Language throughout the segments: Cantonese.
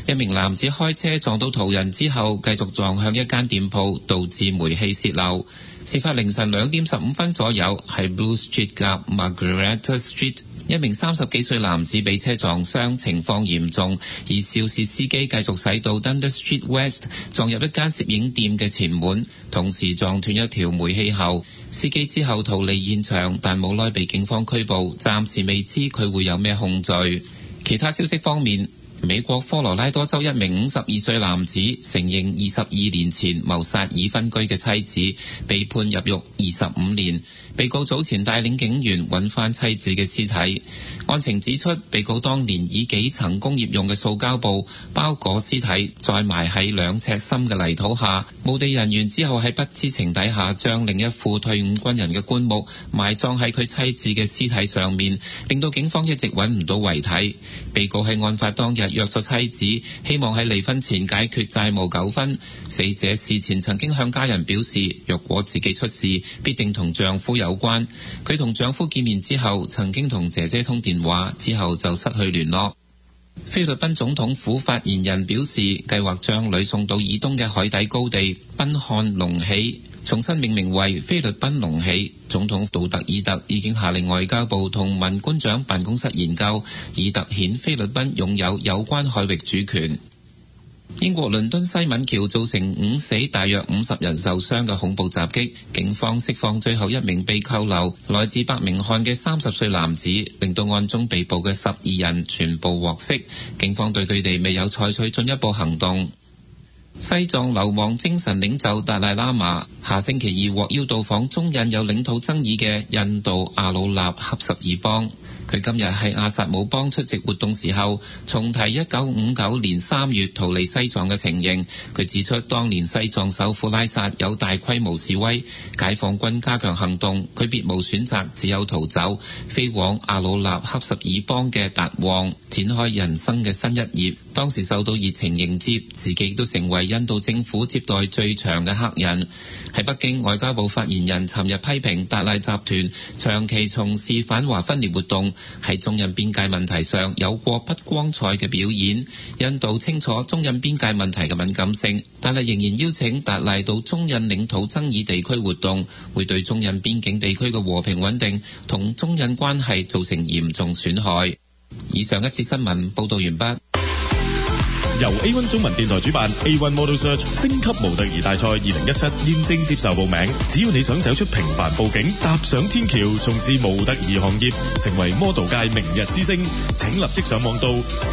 一名男子開車撞到途人之後，繼續撞向一間店鋪，導致煤氣洩漏。事發凌晨2點15分左右，喺 Blue Street 夾 Margaretta Street， 一名30幾歲男子被車撞傷，情況嚴重，而肇事司機繼續駛到 Dundas Street West， 撞入一間攝影店嘅前門，同時撞斷一條煤氣喉。司機之後逃離現場，但冇耐被警方拘捕，暫時未知佢會有咩控罪。其他消息方面，美國科羅拉多州一名52歲男子承認22年前謀殺已婚居嘅妻子，被判入獄25年。被告早前帶領警員揾翻妻子嘅屍體。案情指出，被告當年以幾層工業用嘅塑膠布包裹屍體，再埋喺2尺深嘅泥土下。墓地人員之後喺不知情底下將另一副退伍軍人嘅棺木埋葬喺佢妻子嘅屍體上面，令到警方一直揾唔到遺體。被告喺案發當日約咗妻子，希望喺離婚前解決債務糾紛。死者事前曾經向家人表示，若果自己出事，必定同丈夫有關。佢同丈夫見面之後，曾經同姐姐通電話，之後就失去聯絡。菲律賓總統府發言人表示，計劃將女送到以東嘅海底高地賓漢隆起，重新命名為菲律賓隆起。總統杜特爾特已經下令外交部同文官長辦公室研究，以凸顯菲律賓擁有關海域主權。英國倫敦西敏橋造成5死大約50人受傷嘅恐怖襲擊，警方釋放最後一名被扣留來自伯明翰嘅30歲男子，令到案中被捕嘅12人全部獲釋。警方對佢哋未有採取進一步行動。西藏流亡精神領袖達賴喇嘛下星期2獲邀到訪中印有領土爭議嘅印度阿魯納恰什爾邦。佢今日喺阿薩姆邦出席活動時候，重提1959年3月逃離西藏嘅情形。佢指出，當年西藏首府拉薩有大規模示威，解放軍加強行動，佢別無選擇，只有逃走，飛往阿魯納恰什爾邦嘅達旺，展開人生嘅新一頁。當時受到熱情迎接，自己都成為印度政府接待最長嘅客人。喺北京，外交部發言人尋日批評達賴集團長期從事反華分裂活動，喺中印邊界問題上有過不光彩嘅表演。印度清楚中印邊界問題嘅敏感性，但係仍然邀請達賴到中印領土爭議地區活動，會對中印邊境地區嘅和平穩定同中印關係造成嚴重損害。以上一節新聞報道完畢。 由 A1 中文電台主辦 A1 Model Search 升級模特兒大賽2017現正接受報名。只要你想走出平凡佈景，踏上天橋，從事模特兒行業，成為 model 界明日之星，請立即上網到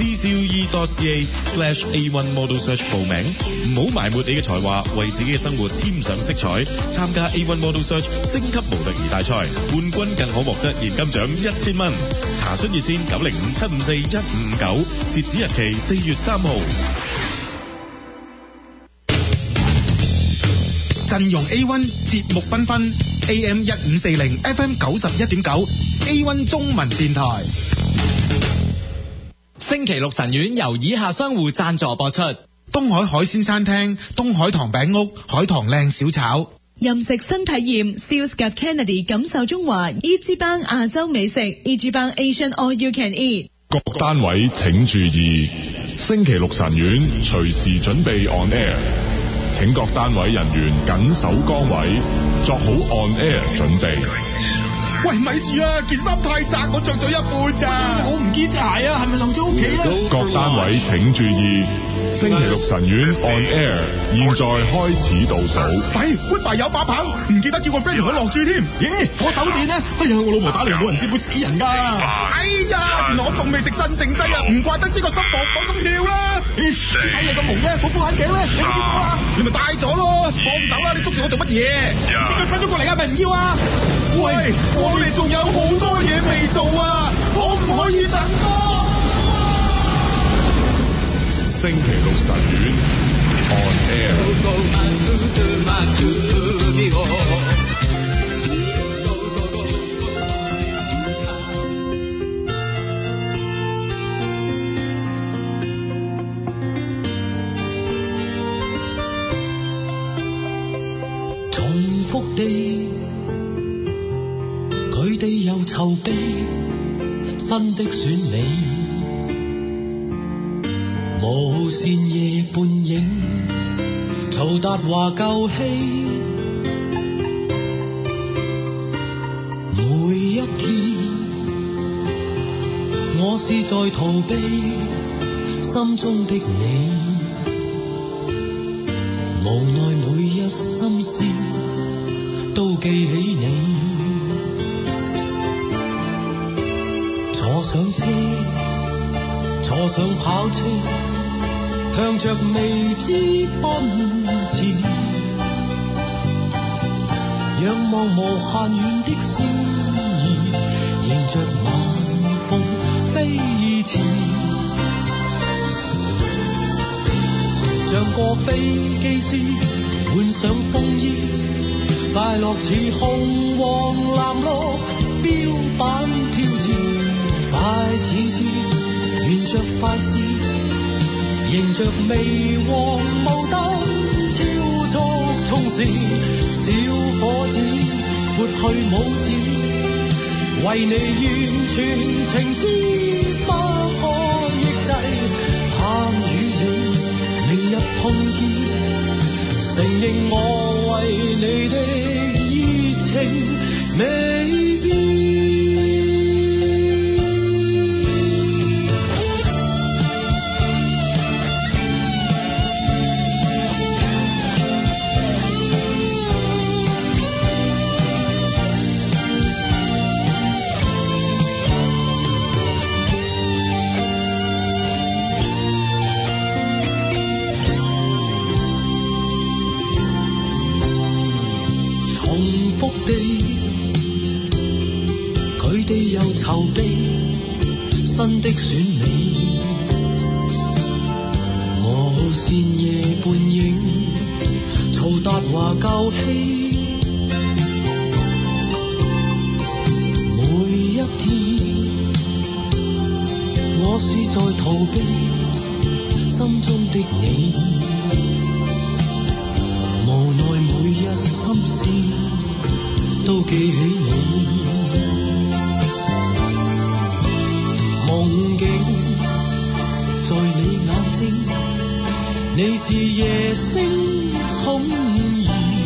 ccue.ca/A1 Model Search 報名。唔好埋沒你嘅才華，為自己嘅生活添上色彩。參加 A1 Model Search 升級模特兒大賽，冠軍更可獲得現金獎1000蚊。查詢熱線905-754-1559，截止日期4月3號。 陣容 A1 節目繽紛 AM 1540 FM 91.9 A1 中文電台。 星期六晨苑由以下商戶贊助播出： 東海海鮮餐廳、東海堂餅屋、海棠靚小炒。 任食新體驗 Steels 及 Kennedy 感受中華 E.G. 班亞洲美食 E.G. 班 Asian All You Can Eat。 各單位請注意，星期六晨苑隨時準備 on air， 請各單位人員緊守崗位，作好 on air 準備。 喂，咪住啊！件衫太窄，我着咗一半咋。我唔見鞋啊，係咪漏咗屋企啊？ 各單位請注意，星期六晨苑 on air， 現在開始倒數。 喂，Goodbye 有把棒，唔記得叫個 friend 同佢落注添。咦，我手電呢？哎呀，我老婆打嚟冇人接會死人㗎。哎呀，原來我仲未食鎮靜劑啊，唔怪得知個心搏咁跳啦。咦，睇你個蒙咧，嗰副眼鏡咧，你唔見咗啊？你咪戴咗咯，放手啦！你捉住我做乜嘢？即刻伸咗過嚟啊！咪唔要啊！喂，我哋仲有好多嘢未做啊，可唔可以等多？ 星期六晨苑 on air。 重複地，佢哋又籌備新的選美，無線夜半影，曹達華舊戲。每一天，我是在逃避心中的你，無奈每一心思都記起你。坐上車，坐上跑車，向着未知奔馳，仰望無限遠的星兒，迎着晚風飛馳，像個飛機師換上風衣，快樂似紅黃藍綠標板挑戰，快似箭，沿着快線，迎着微黃霧燈超速衝線，小伙子撥去拇指，為你完全情知不可抑制，盼與你明日碰見，承認我為你的熱情未變。籌備新的選美，無線夜半影，曹達華舊戲。每一天，我是在逃避心中的你，無奈每一心思都記起你。夢境在你眼睛，你是夜星寵兒，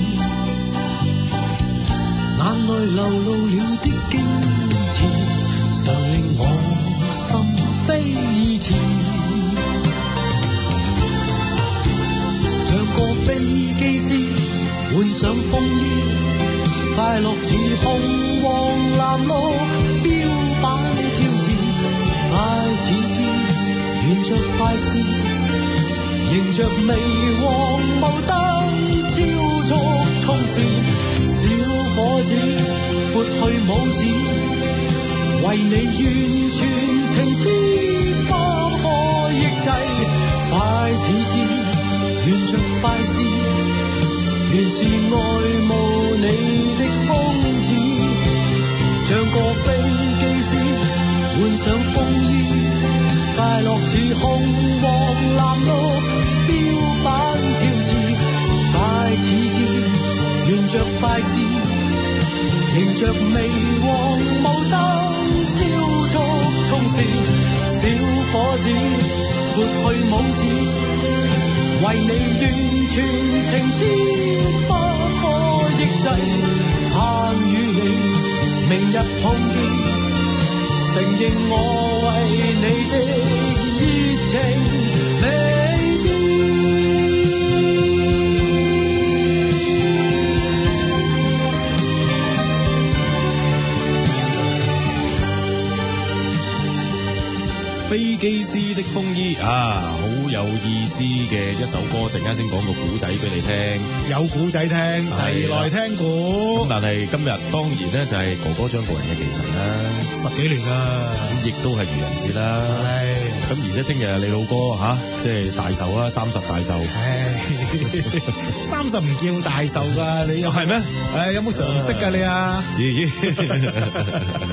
眼內流露了的驚甜，常令我心飛馳，像個飛機師換上風衣，快樂似紅黃藍綠標板挑戰，快似箭，沿着快線，迎着微黃霧燈超速衝線，小伙子撥去拇指，為你完全情知不可抑制，快似箭，沿着快線，原是愛慕你的瘋子，像個飛機師換上風衣，快樂似紅黃藍綠標板挑戰，快似箭，沿着快線，迎着微黃霧燈超速衝線，小伙子撥去拇指，為你完全情知不可抑制，盼與你明日碰見，承認我為你的熱情未變。 飛機師的風衣啊，好有意思嘅一首歌，陣間先講個古仔俾你聽。 有古仔聽，齊來聽古。 咁但係今日當然咧就係哥哥張國榮嘅忌神啦 ，10幾年啦， 咁亦都係愚人節啦。咁而且聽日你老哥即係大壽啦，30大壽。 30唔叫大壽㗎，你又係咩？有冇常識㗎你啊？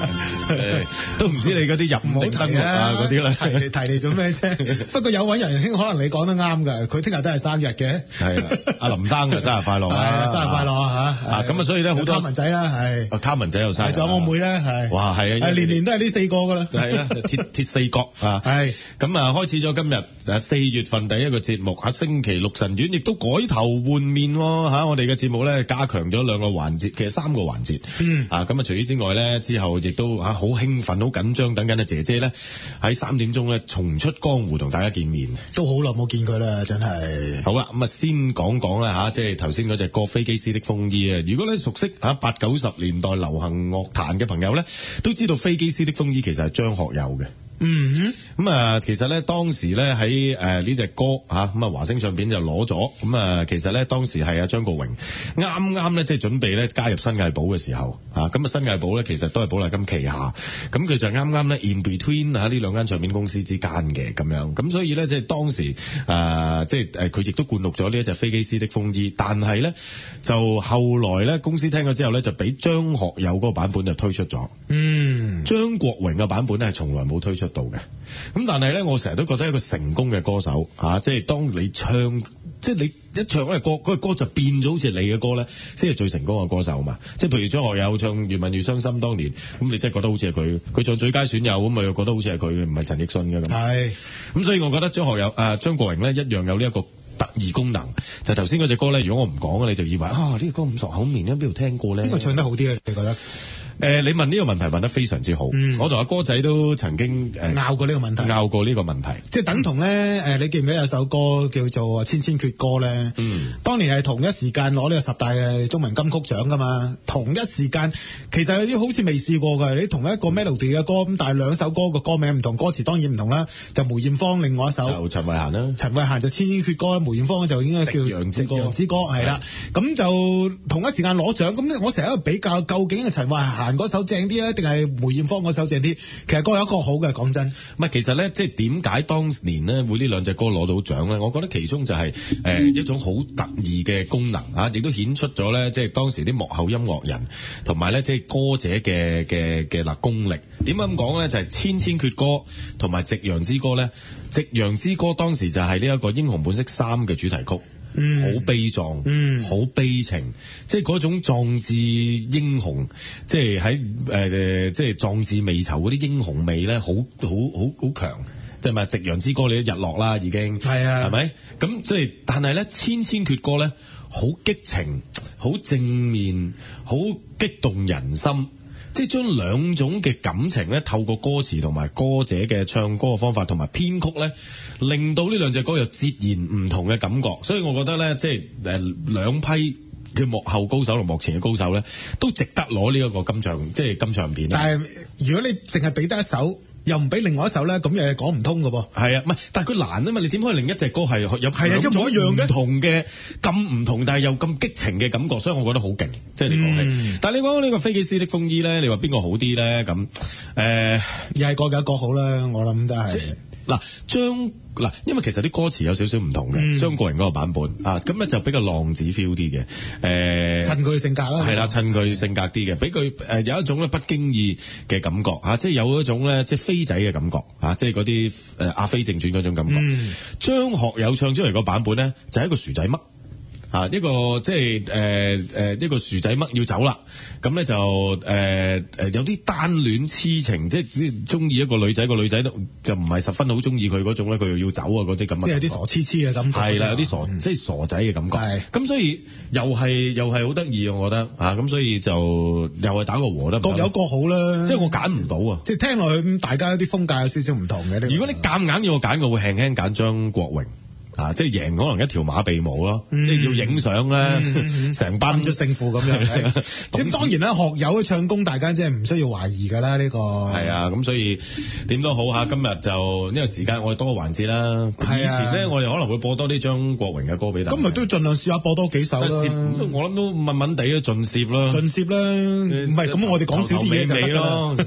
都唔知你嗰啲入定登錄啊嗰啲咧。 提你做咩啫？不過有位仁兄可能你講得啱㗎，佢聽日都係生日嘅。 係啊，阿林生嘅生日快樂啊！ 生日快樂啊嚇！ 咁啊，所以咧好多卡文仔啦，係。 卡文仔又生日。 仲有我妹咧，係。 哇，係啊！ 年都係呢4個㗎啦。 係啊，鐵四角啊。係。咁啊，開始咗今日4月份第一個節目嚇，星期六晨遠亦都改頭換面喎嚇，我哋嘅節目咧加強咗2個環節，其實3個環節。咁啊，除此之外咧，之後亦都好興奮、好緊張，等緊啊姐姐咧喺3點鐘咧重出江湖同大家見面。 都好耐冇見佢啦，真係。 好啦，咁啊先講啦嚇，即係頭先嗰隻歌《飛機師的風衣》啊。如果咧熟悉嚇80、90年代流行樂壇嘅朋友咧，都知道《飛機師的風衣》其實係張學友嘅。咁啊，其實咧當時咧喺呢隻歌嚇咁啊華星唱片就攞咗，咁啊其實咧當時係阿張國榮啱咧即係準備咧加入新藝寶嘅時候咁啊新藝寶咧其實都係寶麗金旗下，咁佢就啱咧 in between 呢兩間唱片公司之間嘅咁樣，咁所以咧即係當時即係佢亦都灌錄咗呢一隻飛機師的風衣，但係咧就後來咧公司聽咗之後咧就俾張學友嗰個版本就推出咗，張國榮嘅版本咧係從來冇推出到嘅。咁但係咧，我成日都覺得一個成功嘅歌手即係當你唱，即係你一唱嗰個歌就變咗好似你嘅歌咧，先係最成功嘅歌手嘛。即係譬如張學友唱《越問越傷心》當年，咁你真係覺得好似係佢；佢唱最佳損友，咁咪又覺得好似係佢，唔係陳奕迅嘅咁。係。咁所以我覺得張國榮咧一樣有呢一個特異功能。就頭先嗰隻歌咧，如果我唔講你就以為呢個歌咁熟口面，喺邊度聽過咧？邊個唱得好啲啊？你覺得？你問呢個問題問得非常之好，我同阿哥仔都曾經拗過呢個問題， 即係等同咧你記唔記得有首歌叫做《千千闕歌》咧？當年係同一時間攞呢個10大嘅中文金曲獎噶嘛，同一時間其實有啲好似未試過㗎，你同一個 melody 嘅歌咁，但係2首歌個歌名唔同，歌詞當然唔同啦。就梅艷芳另外一首就陳慧嫻啦， 陳慧嫻就《千千闕歌》，梅艷芳就應該叫《夕陽之歌》係啦。咁就同一時間攞獎，咁我成日喺度比較，究竟係陳慧嫻嗰首正啲啊，定係梅艷芳嗰首正啲？其實各有一個好嘅，講真。 唔係，其實咧，即係點解當年咧會呢兩隻歌攞到獎咧？我覺得其中就係一種好特異嘅功能啊，亦都顯出咗咧，即係當時啲幕後音樂人同埋咧，即係歌者嘅功力。點解咁講咧？就係《千千闕歌》同埋《夕陽之歌》咧，《夕陽之歌》當時就係呢一個《英雄本色3》嘅主題曲。好悲壯，好悲情，即係嗰種壯志英雄，即係喺即係壯志未酬嗰啲英雄味咧，好強。即係咪《夕陽之歌》你都日落啦，已經係啊，係咪？咁即係，但係咧《千千闕歌》咧，好激情，好正面，好激動人心。即係將兩種嘅感情咧，透過歌詞同埋歌者嘅唱歌嘅方法同埋編曲咧，令到呢兩隻歌有截然唔同嘅感覺。所以我覺得咧，即係兩批嘅幕後高手同幕前嘅高手咧，都值得攞呢一個金唱片。 但係如果你淨係俾得一首，又唔俾另外一首咧，咁又係講唔通㗎噃。 係啊，唔係，但係佢難啊嘛，你點可以另一隻歌係有一模一樣嘅唔同嘅咁唔同，但係又咁激情嘅感覺，所以我覺得好勁。即係你講起，但係你講呢個飛機師的風衣咧，你話邊個好啲咧？咁又係各有各好啦，我諗都係。 因為其實啲歌詞有少少唔同嘅，張國榮嗰個版本咁咧就比較浪子 feel 啲嘅， 襯佢性格啦， 係啦，襯佢性格啲嘅，俾佢有一種咧不經意嘅感覺即係有一種咧即係飛仔嘅感覺即係嗰啲阿飛正傳嗰種感覺。張學友唱出嚟個版本咧就係一個薯仔嘜。一個即係一個薯仔嘜要走啦，咁咧就有啲單戀痴情，即係中意一個女仔，個女仔就唔係十分好中意佢嗰種咧，佢又要走啊嗰啲咁。 即係有啲傻痴痴嘅感覺。 係啦，有啲傻，即係傻仔嘅感覺。係。咁所以又係好得意，我覺得咁所以就又係打個和得。 各有各好啦。即係我揀唔到啊！ 即係聽落去大家啲風格有少少唔同嘅。 如果你夾硬要我揀，我會輕輕揀張國榮。即係贏可能一條馬鼻毛咯，即係要影相咧，成班出勝負咁樣。咁當然啦，學友嘅唱功，大家即係唔需要懷疑㗎啦。呢個係啊，咁所以點都好嚇。今日就呢個時間，我哋多個環節啦。以前咧，我哋可能會播多啲張國榮嘅歌俾大家。 今日都盡量試下播多幾首啦。 我諗都問問地啊，盡攝啦。 盡攝啦，唔係咁，我哋講少啲嘢就得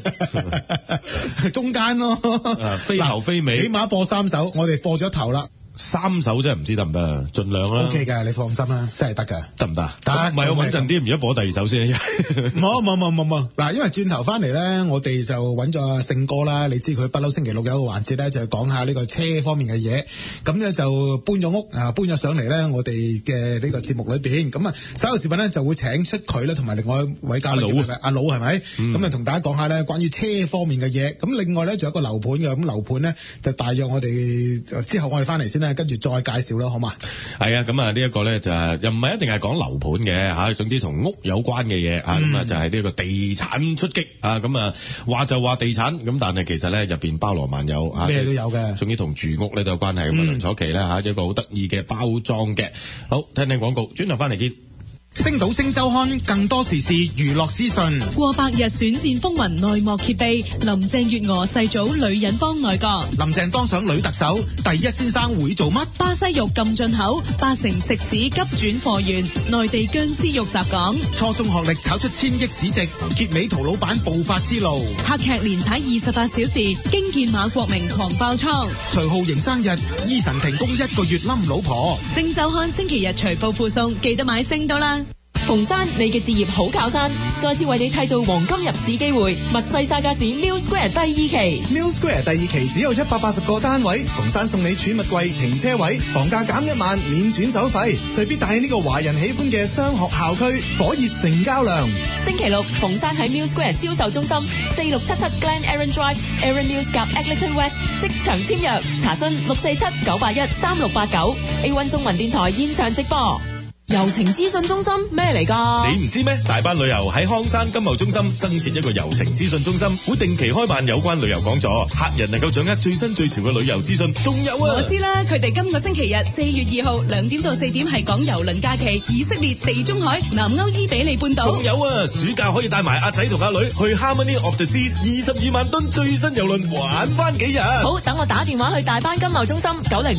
咯。中間咯， 飛頭飛尾， 起碼播3首，我哋播咗頭啦。 3手真係唔知得唔得啊？盡量啦。 OK 㗎，你放心啦，真係得㗎。 得唔得？ 得， 唔係我穩陣啲，而家播第2首先。 冇。嗱，因為轉頭翻嚟咧，我哋就揾咗阿勝哥啦。你知佢不嬲星期六有一個環節咧，就係講下呢個車方面嘅嘢。咁咧就搬咗屋啊，搬咗上嚟咧，我哋嘅呢個節目裏邊。咁啊，稍後時分咧就會請出佢咧，同埋另外一位嘉賓阿佬係咪？咁啊，同大家講下咧關於車方面嘅嘢。咁另外咧仲有一個樓盤嘅，咁樓盤咧就大約我哋之後我哋翻嚟先啦，跟住再介紹啦，好嘛？ 係啊，咁啊呢一個咧就係又唔係一定係講樓盤嘅嚇，總之同屋有關嘅嘢啊，咁啊就係呢個地產出擊啊，咁啊話就話地產，咁但係其實咧入邊包羅萬有啊， 咩都有嘅， 總之同住屋咧都有關係。咁啊梁楚琪咧嚇一個好得意嘅包裝嘅，好聽聽廣告，轉頭翻嚟見。 星島星週刊更多時事娛樂資訊。 過百日選戰風雲內幕揭秘，林鄭月娥細組女人幫內閣。 林鄭當上女特首，第一先生會做乜？ 巴西肉禁進口，8成食肆急轉貨源，內地僵屍肉襲港。 初中學歷炒出1000億市值，結尾陶老闆暴發之路。 黑劇連踩28小時，驚見馬國明狂爆倉。 徐浩瑩生日，醫神停工1個月冧老婆。 星週刊星期日隨報附送，記得買星島啦。 逢山，你嘅置業好靠山，再次為你締造黃金入市機會。密西沙加士 Mill Square 第2期 ，Mill Square 第2期只有180個單位，逢山送你儲物櫃、停車位，房價減1萬，免轉手費，勢必帶起呢個華人喜歡嘅雙學校區，火熱成交量。 星期六，逢山喺 Mill Square 銷售中心4677 Glen Aaron Drive，Aaron Mills 夾 Eglinton West，即場簽約，查詢647-981-3689 A1 中文電台現場直播。遊程資訊中心咩嚟㗎？ 你唔知咩？大班旅遊喺康山金茂中心增設一個遊程資訊中心，會定期開辦有關旅遊講座，客人能夠掌握最新最潮嘅旅遊資訊。仲有啊， 我知啦，佢哋今個星期日4月2號2點到4點係講郵輪假期，以色列、地中海、南歐伊比利半島。 仲有啊，暑假可以帶埋阿仔同阿女去 Harmony of the Seas 22萬噸最新郵輪玩翻幾日。 好，等我打電話去大班金茂中心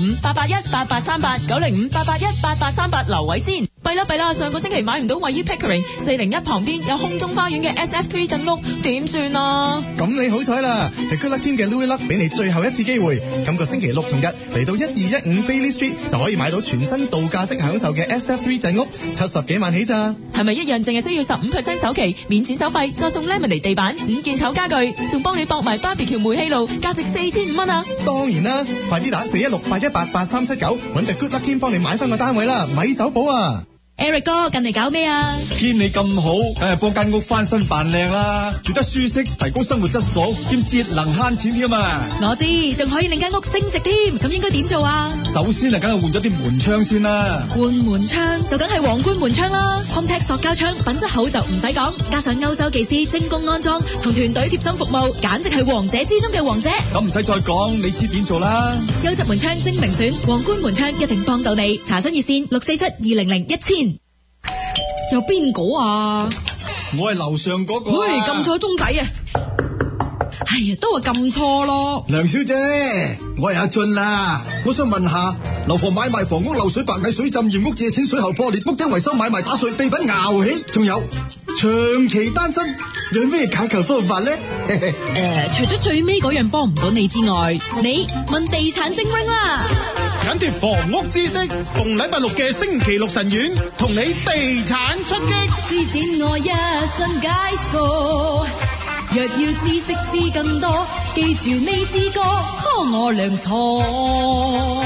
905-881-8838 905-881-8838留位先。弊啦，上個星期買唔到位於 Pickering 401旁邊有空中花園嘅 SF3 鎮屋，點算啊？ 咁你好彩啦 ，The Good Luck Team 嘅 Louis Luck 俾你最後一次機會，今個星期六同日嚟到1215 Bailey Street 就可以買到全新度假式享受嘅 SF3 鎮屋，70幾萬起咋？ 係咪一樣淨係需要15% 首期，免轉手費，再送 Lemonade 地板、5件頭家具，仲幫你駁埋 BBQ 煤氣爐，價值4500蚊啊！ 當然啦，快啲打416-818-8379揾 The Good Luck Team 幫你買翻個單位啦，咪走寶啊！ Eric 哥，近嚟搞咩啊？ 天氣咁好，梗係幫間屋翻新扮靚啦，住得舒適，提高生活質素，兼節能慳錢添啊！ 我知，仲可以令間屋升值添，咁應該點做啊？ 首先啊，梗係換咗啲門窗先啦。 換門窗就梗係皇冠門窗啦 ，Hometech 塑膠窗品質好就唔使講，加上歐洲技師精工安裝同團隊貼心服務，簡直係王者之中嘅王者。 咁唔使再講，你知點做啦？ 優質門窗精明選，皇冠門窗一定幫到你。查詢熱線647-200-1000。有邊個啊？ 我係樓上嗰個。 喂，撳錯鐘仔啊！哎呀，都話撳錯咯。 梁小姐，我係阿俊啦，我想問下，樓房買賣房屋漏水、白蟻、水浸、驗屋、借錢、水喉破裂、屋頂維修、買賣打碎、地品熬起，仲有長期單身，有咩解決方法咧？ 除咗最尾嗰樣幫唔到你之外，你問地產精英啦。 緊貼房屋知識，逢禮拜六嘅星期六晨遠，同你地產出擊， 施展我一身解數。若要知識知更多，記住呢支歌，幫我量錯。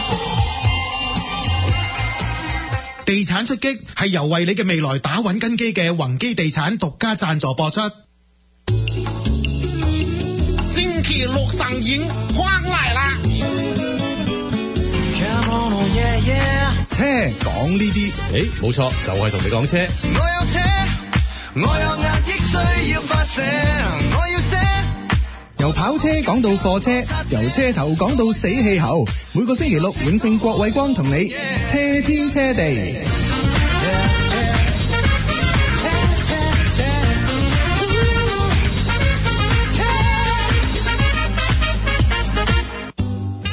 地產出擊係由為你嘅未來打穩根基嘅宏基地產獨家贊助播出。 星期六上映，歡來啦！ 車講呢啲， 冇錯，就係同你講車。 我有車，我有壓抑需要發射，我要寫。 由跑車講到貨車，由車頭講到死氣喉。每個星期六，永勝郭偉光同你車天車地。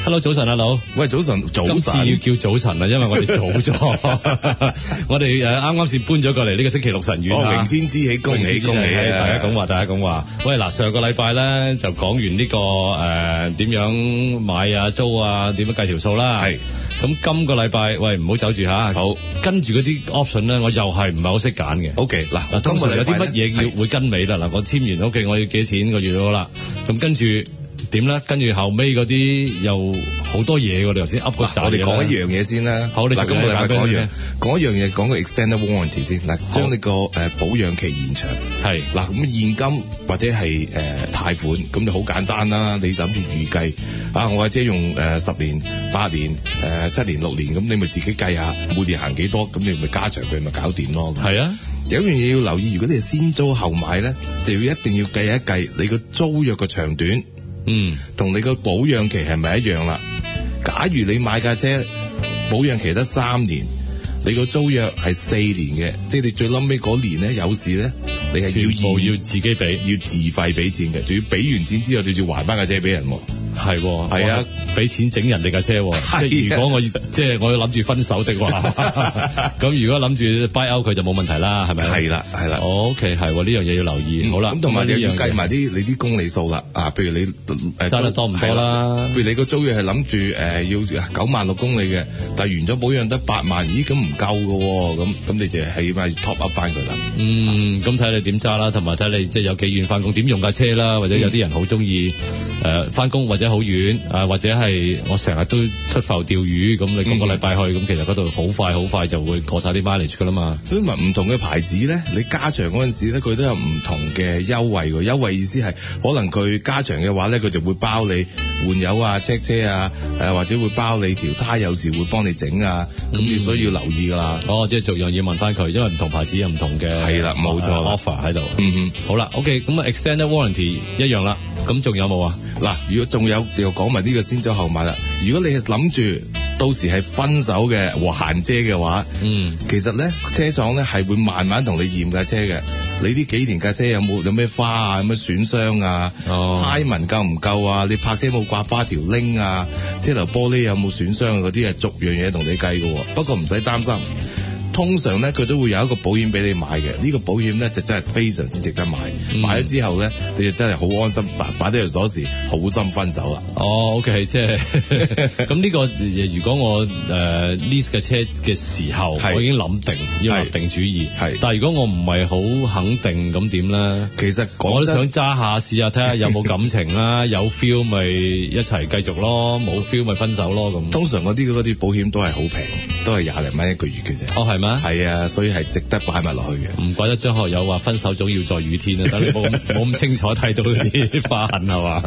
Hello， 早晨啊，老。 喂，早晨。 今次要叫早晨啦，因為我哋早咗。我哋啱啱先搬咗過嚟呢個星期六晨遠啊。 明天之喜，恭喜恭喜啊！ 大家講話。喂，嗱，上個禮拜咧就講完呢個點樣買啊租啊，點樣計條數啦。係。咁今個禮拜，喂，唔好走住嚇。好。跟住嗰啲 option 咧，我又係唔係好識揀嘅。 OK，嗱， 通常有啲乜嘢要會跟尾啦。嗱，我簽完 OK，我要幾錢個月好啦。咁跟住。點咧？跟住後尾嗰啲又好多嘢喎，你頭先噏嗰扎嘢。 我哋講一樣嘢先啦。好，嗱，今個禮拜講一樣嘢，講個 extended warranty 先。嗱，將你個保養期延長。係。嗱，咁現金或者係貸款，咁就好簡單啦。你諗住預計我架車用10年、8年、7年、6年，咁你咪自己計下每年行幾多，咁你咪加長佢咪搞掂咯。係啊。有一樣嘢要留意，如果你係先租後買咧，就要一定要計一計你個租約嘅長短。同你個保養期係咪一樣啦？假如你買架車保養期得3年，你個租約係4年嘅，即係你最冧尾嗰年咧有事咧，你係要自己俾， 要自費俾錢嘅，仲要俾完錢之後，你要還翻架車俾人。係啊， 俾錢整人哋架車，即係如果我要諗住分手的話，咁如果諗住 buy out 佢就冇問題啦，係咪？係啦。OK， 係呢樣嘢要留意。好啦， 咁同埋你要計埋你啲公里數啦。譬如你揸得多唔多啦？ 譬如你個租約係諗住要96000公里嘅，但係完咗保養得8萬，咦咁唔夠㗎喎，咁你就起碼 top up 翻佢啦。 咁睇你點揸啦，同埋睇你即係有幾遠翻工，點用架車啦，或者有啲人好中意翻工或者好遠或者係我成日都出埠釣魚，咁你今個禮拜去，咁其實嗰度好快就會過晒啲 mileage 噶啦嘛。 所以唔同嘅牌子咧，你加長嗰陣時咧，佢都有唔同嘅優惠喎。優惠意思係可能佢加長嘅話咧，佢就會包你換油啊、check 車啊，或者會包你條胎，有時會幫你整啊。咁所以要留意㗎啦。 即係逐樣嘢問翻佢，因為唔同牌子有唔同嘅係啦，冇錯 offer 喺度。好啦 ，OK， 咁啊 extended warranty 一樣啦。咁仲有冇啊？ 嗱，如果仲有又講埋呢個先租後買啦。如果你係諗住到時係分手嘅還車嘅話，其實咧車廠咧係會慢慢同你驗架車嘅。你呢幾年架車有咩花啊，有咩損傷啊，胎紋夠唔夠啊？你泊車冇刮花條鈴啊，車頭玻璃有冇損傷啊？嗰啲係逐樣嘢同你計嘅。不過唔使擔心。通常咧佢都會有一個保險俾你買嘅，呢個保險咧就真係非常之值得買。買咗之後咧，你就真係好安心，擺低條鎖匙，好心分手啦。 OK， 即係咁呢個，如果我lease 嘅車嘅時候，我已經諗定要立定主意。但係如果我唔係好肯定咁點咧？ 其實我都想揸下試下睇下有冇感情啦，有 feel 咪一齊繼續咯，冇 feel 咪分手咯咁。 通常嗰啲保險都係好平，都係20零蚊一個月嘅啫。 係咩？ 係啊，所以係值得擺埋落去嘅。 唔怪得張學友話分手總要在雨天啊！等你冇咁清楚睇到啲花痕係嘛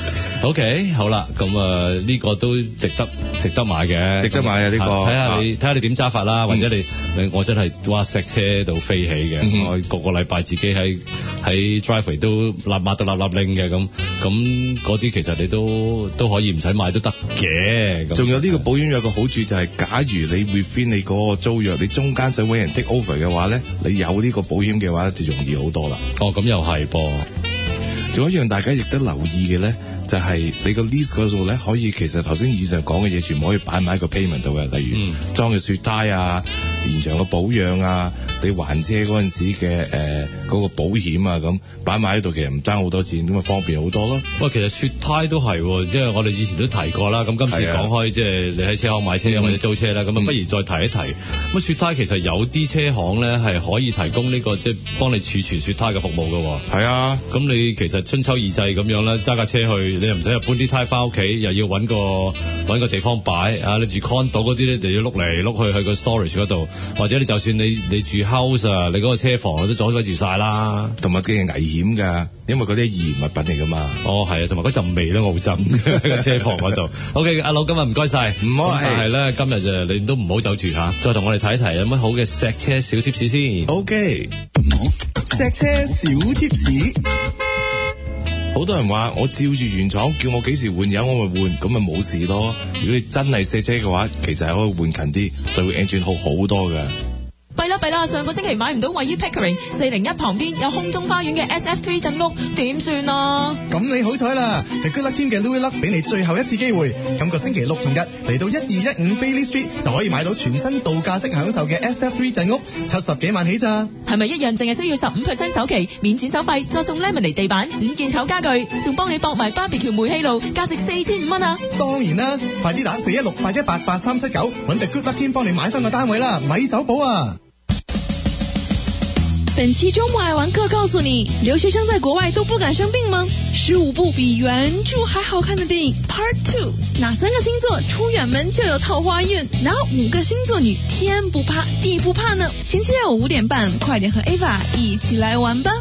？OK， 好啦，咁呢個都值得買嘅， 值得買啊！呢個睇下你點揸法啦，或者我真係哇石車度飛起嘅，我個禮拜自己喺 driveway 都抹到立拎嘅咁嗰啲其實你都可以唔使買都得嘅。 仲有呢個保險有個好處就係，假如你 within 你嗰個租約，你中間想揾人 take over 嘅話咧，你有呢個保險嘅話就容易好多啦。 咁又係噃。 仲有一樣大家亦都留意嘅咧，就係你個 lease 嗰度咧，可以其實頭先以上講嘅嘢，全部可以擺埋喺個 payment 度嘅，例如裝嘅雪胎啊、延長嘅保養啊、你還車嗰陣時嘅嗰個保險啊，咁擺埋喺度，其實唔爭好多錢，咁啊方便好多咯。 喂，其實雪胎都係，即係我哋以前都提過啦。咁今次講開，即係你喺車行買車或者租車啦，咁不如再提一提。咁雪胎其實有啲車行咧係可以提供呢個即係幫你儲存雪胎嘅服務嘅。 係啊， 咁你其實春秋二祭咁樣啦，揸架車去，你又唔使搬啲胎翻屋企，又要揾個地方擺啊！你住 condo 嗰啲咧，就要碌嚟碌去個 storage 嗰度，或者你就算你住 house 啊，你嗰個車房都阻塞住晒啦。 同埋幾危險㗎，因為嗰啲易燃物品嚟㗎嘛。 係啊，同埋嗰陣味都好震喺個車房嗰度。OK， 阿佬今日唔該晒， 唔好但係咧今日就你都唔好走住嚇，再同我哋睇一睇有乜好嘅錫車小貼士先。 OK， 錫車小貼士。 好多人話我照住原廠叫我幾時換油我咪換，咁咪冇事咯。如果你真係錫車嘅話，其實係可以換勤啲，對個 engine 好好多㗎。 弊啦！上個星期買唔到位於 Pickering 401旁邊有空中花園嘅 SF3 鎮屋，點算啊？ 咁你好彩啦 ！The Good Luck Team 嘅 Louis Luck 俾你最後一次機會，今個星期六同日嚟到1215 Bailey Street 就可以買到全新度假式享受嘅 SF3 鎮屋，70幾萬起咋？ 係咪一樣淨係需要15% 首期，免轉手費，再送 Lemonade 地板、5件頭家具，仲幫你駁埋 BBQ 煤氣爐，價值4500蚊啊！ 當然啦，快啲打416-818-8379，揾 The Good Luck Team 幫你買翻個單位啦，咪走寶啊！ 本期周末爱玩客告诉你，留学生在国外都不敢生病吗？15部比原著还好看的电影 Part 2，哪3个星座出远门就有桃花运？哪5个星座女天不怕地不怕呢？星期六5點半，快點和 Ava 一起來玩吧。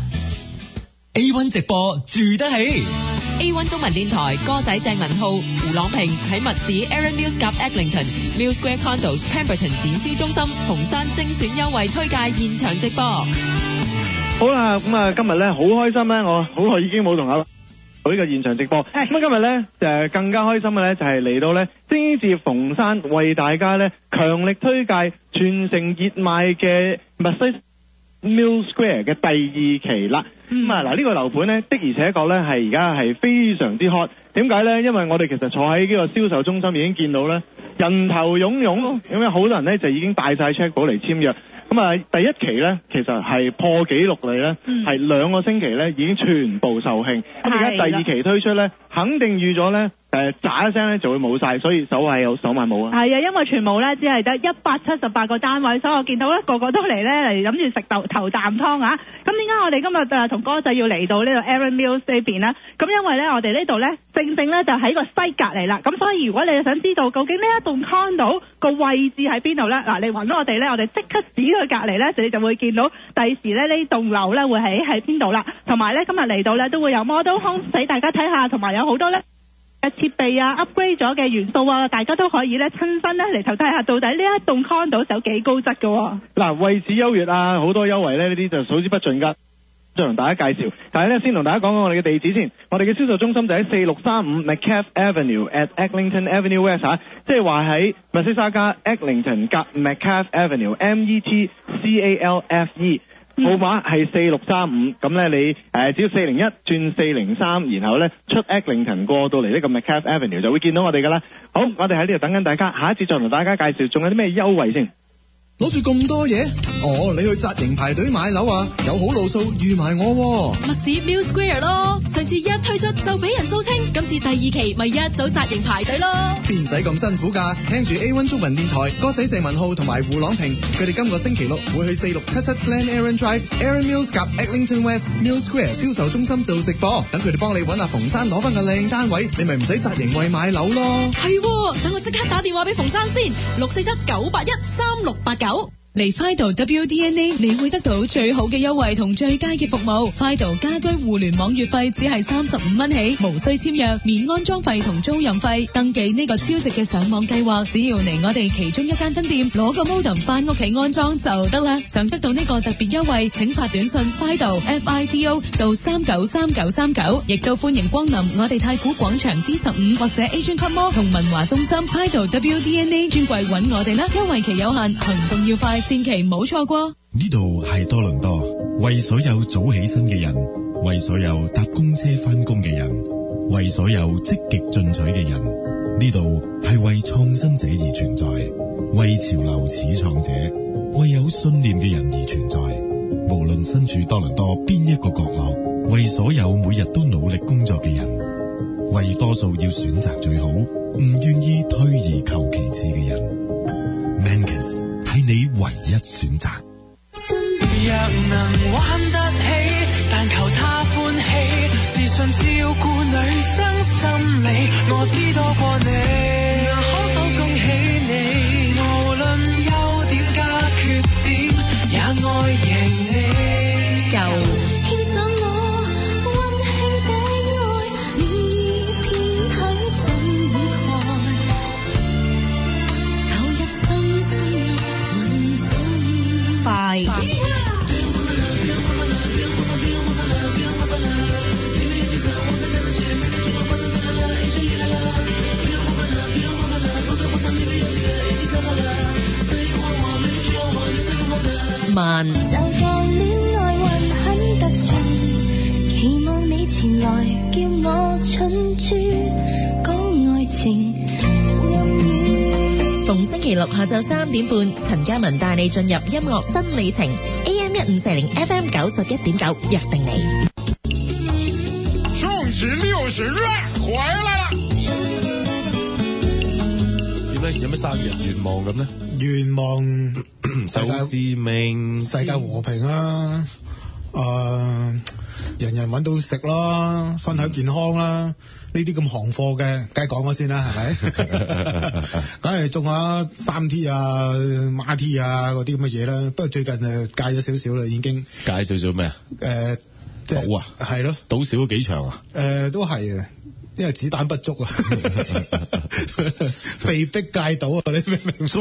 A1 直播住得起。 A1 中文電台歌仔鄭文浩、胡朗平喺密市 Aaron Mills 夾 Eglinton Mill Square Condos Pemberton 展銷中心紅山精選優惠推介現場直播。 好啦，咁啊今日咧好開心咧，我好耐已經冇同阿呢個現場直播。咁啊今日咧更加開心嘅咧就係嚟到咧星至逢山為大家咧強力推介全城熱賣嘅密西 Mill Square 嘅第2期啦。咁啊嗱呢個樓盤咧的而且確咧係而家係非常之 hot。點解咧？因為我哋其實坐喺呢個銷售中心已經見到咧人頭湧湧，咁有好多人咧就已經帶晒 check 簿嚟簽約。咁啊第1期咧其實係破紀錄嚟咧，係2個星期咧已經全部售罄。咁而家第2期推出咧，肯定預咗咧炸一聲咧就會冇晒，所以手賣有手賣冇啊。 係啊，因為全部咧只係得178個單位，所以我見到咧個個都嚟咧嚟諗住食頭啖湯啊！咁點解我哋今日同哥仔要嚟到呢個 Aaron Mills 呢邊呢？咁因為咧我哋呢度咧正正咧就喺個西隔離啦。咁所以如果你想知道究竟呢一棟 condo 個位置喺邊度咧，嗱你揾我哋咧，我哋即刻指佢隔離咧，你就會見到第時咧呢棟樓咧會喺邊度啦。同埋咧今日嚟到咧都會有 model home 俾大家睇下，同埋有好多咧嘅設備啊 upgrade 咗嘅元素啊，大家都可以咧親身咧嚟頭睇下到底呢一棟 condo 有幾高質嘅。嗱位置優越啊，好多優惠咧，呢啲就數之不盡㗎。再同大家介紹，但係咧先同大家講講我哋嘅地址先。我哋嘅銷售中心就喺4635 McCaff Avenue at Eglinton Avenue West 即係話喺密西沙加 Eglinton 夾 McCaff Avenue METCALFE。號碼係4635，咁咧你只要401轉403，然後咧出 Eglinton 過到嚟呢個 McCaff Avenue 就會見到我哋㗎啦。好，我哋喺呢度等緊大家，下一次再同大家介紹，仲有啲咩優惠先。 攞住咁多嘢？你去紮營排隊買樓啊？有好路數預埋我喎。 密市 Mill Square 咯，上次一推出就俾人掃清，今次第2期咪一早紮營排隊咯。 邊使咁辛苦㗎？聽住 A1 中文電台歌仔鄭文浩同埋胡朗平，佢哋今個星期六會去4677 Glen Aaron Drive Aaron Mills 夾 Eglinton West Mill Square 銷售中心做直播，等佢哋幫你揾阿馮生攞翻個靚單位，你咪唔使紮營為買樓咯。 係，等我即刻打電話俾馮生先，647-981-3689。嚟 Fido WDNA 你會得到最好嘅優惠同最佳嘅服務。Fido 家居互聯網月費只係35蚊起，無需簽約，免安裝費同租用費。登記呢個超值嘅上網計劃，只要嚟我哋其中一間分店攞個 modem 翻屋企安裝就得啦。想得到呢個特別優惠，請發短信 Fido FIDO 到393939，亦都歡迎光臨我哋太古廣場 D15 或者 Asian Club Mall 同文華中心 Fido WDNA 專櫃揾我哋啦，優惠期有限，行動要快。千祈唔好錯過。 呢度係多倫多，為所有早起身嘅人，為所有搭公車翻工嘅人，為所有積極進取嘅人，呢度係為創新者而存在，為潮流始創者，為有信念嘅人而存在。無論身處多倫多邊一個角落，為所有每日都努力工作嘅人，為多數要選擇最好，唔願意退而求其次嘅人。Mancus係你唯一選擇。 若能玩得起，但求他歡喜，自信照顧女生心理，我知多過你，可否恭喜你？無論優點加缺點，也愛贏你。 夠。 慢。 就當戀愛運很特殊，期望你前來叫我蠢豬講愛情暗語。 逢星期六下晝3點半，陳嘉文帶你進入音樂新里程 AM1540 FM 91.9，約定你。 宋值60月回來了。 點咧？有咩生日願望咁咧？ 願望首致命， 世界和平啦，人人揾到食啦，分享健康啦，呢啲咁行貨嘅，梗係講咗先啦，係咪？梗係種下3T 啊、孖 T 啊嗰啲咁嘅嘢啦。不過最近戒咗少少啦，已經。 戒少少咩啊？ 即係賭啊？ 係咯。 賭少咗幾場啊？ 都係嘅。因為子彈不足啊，被逼戒賭啊！你明唔明？ 所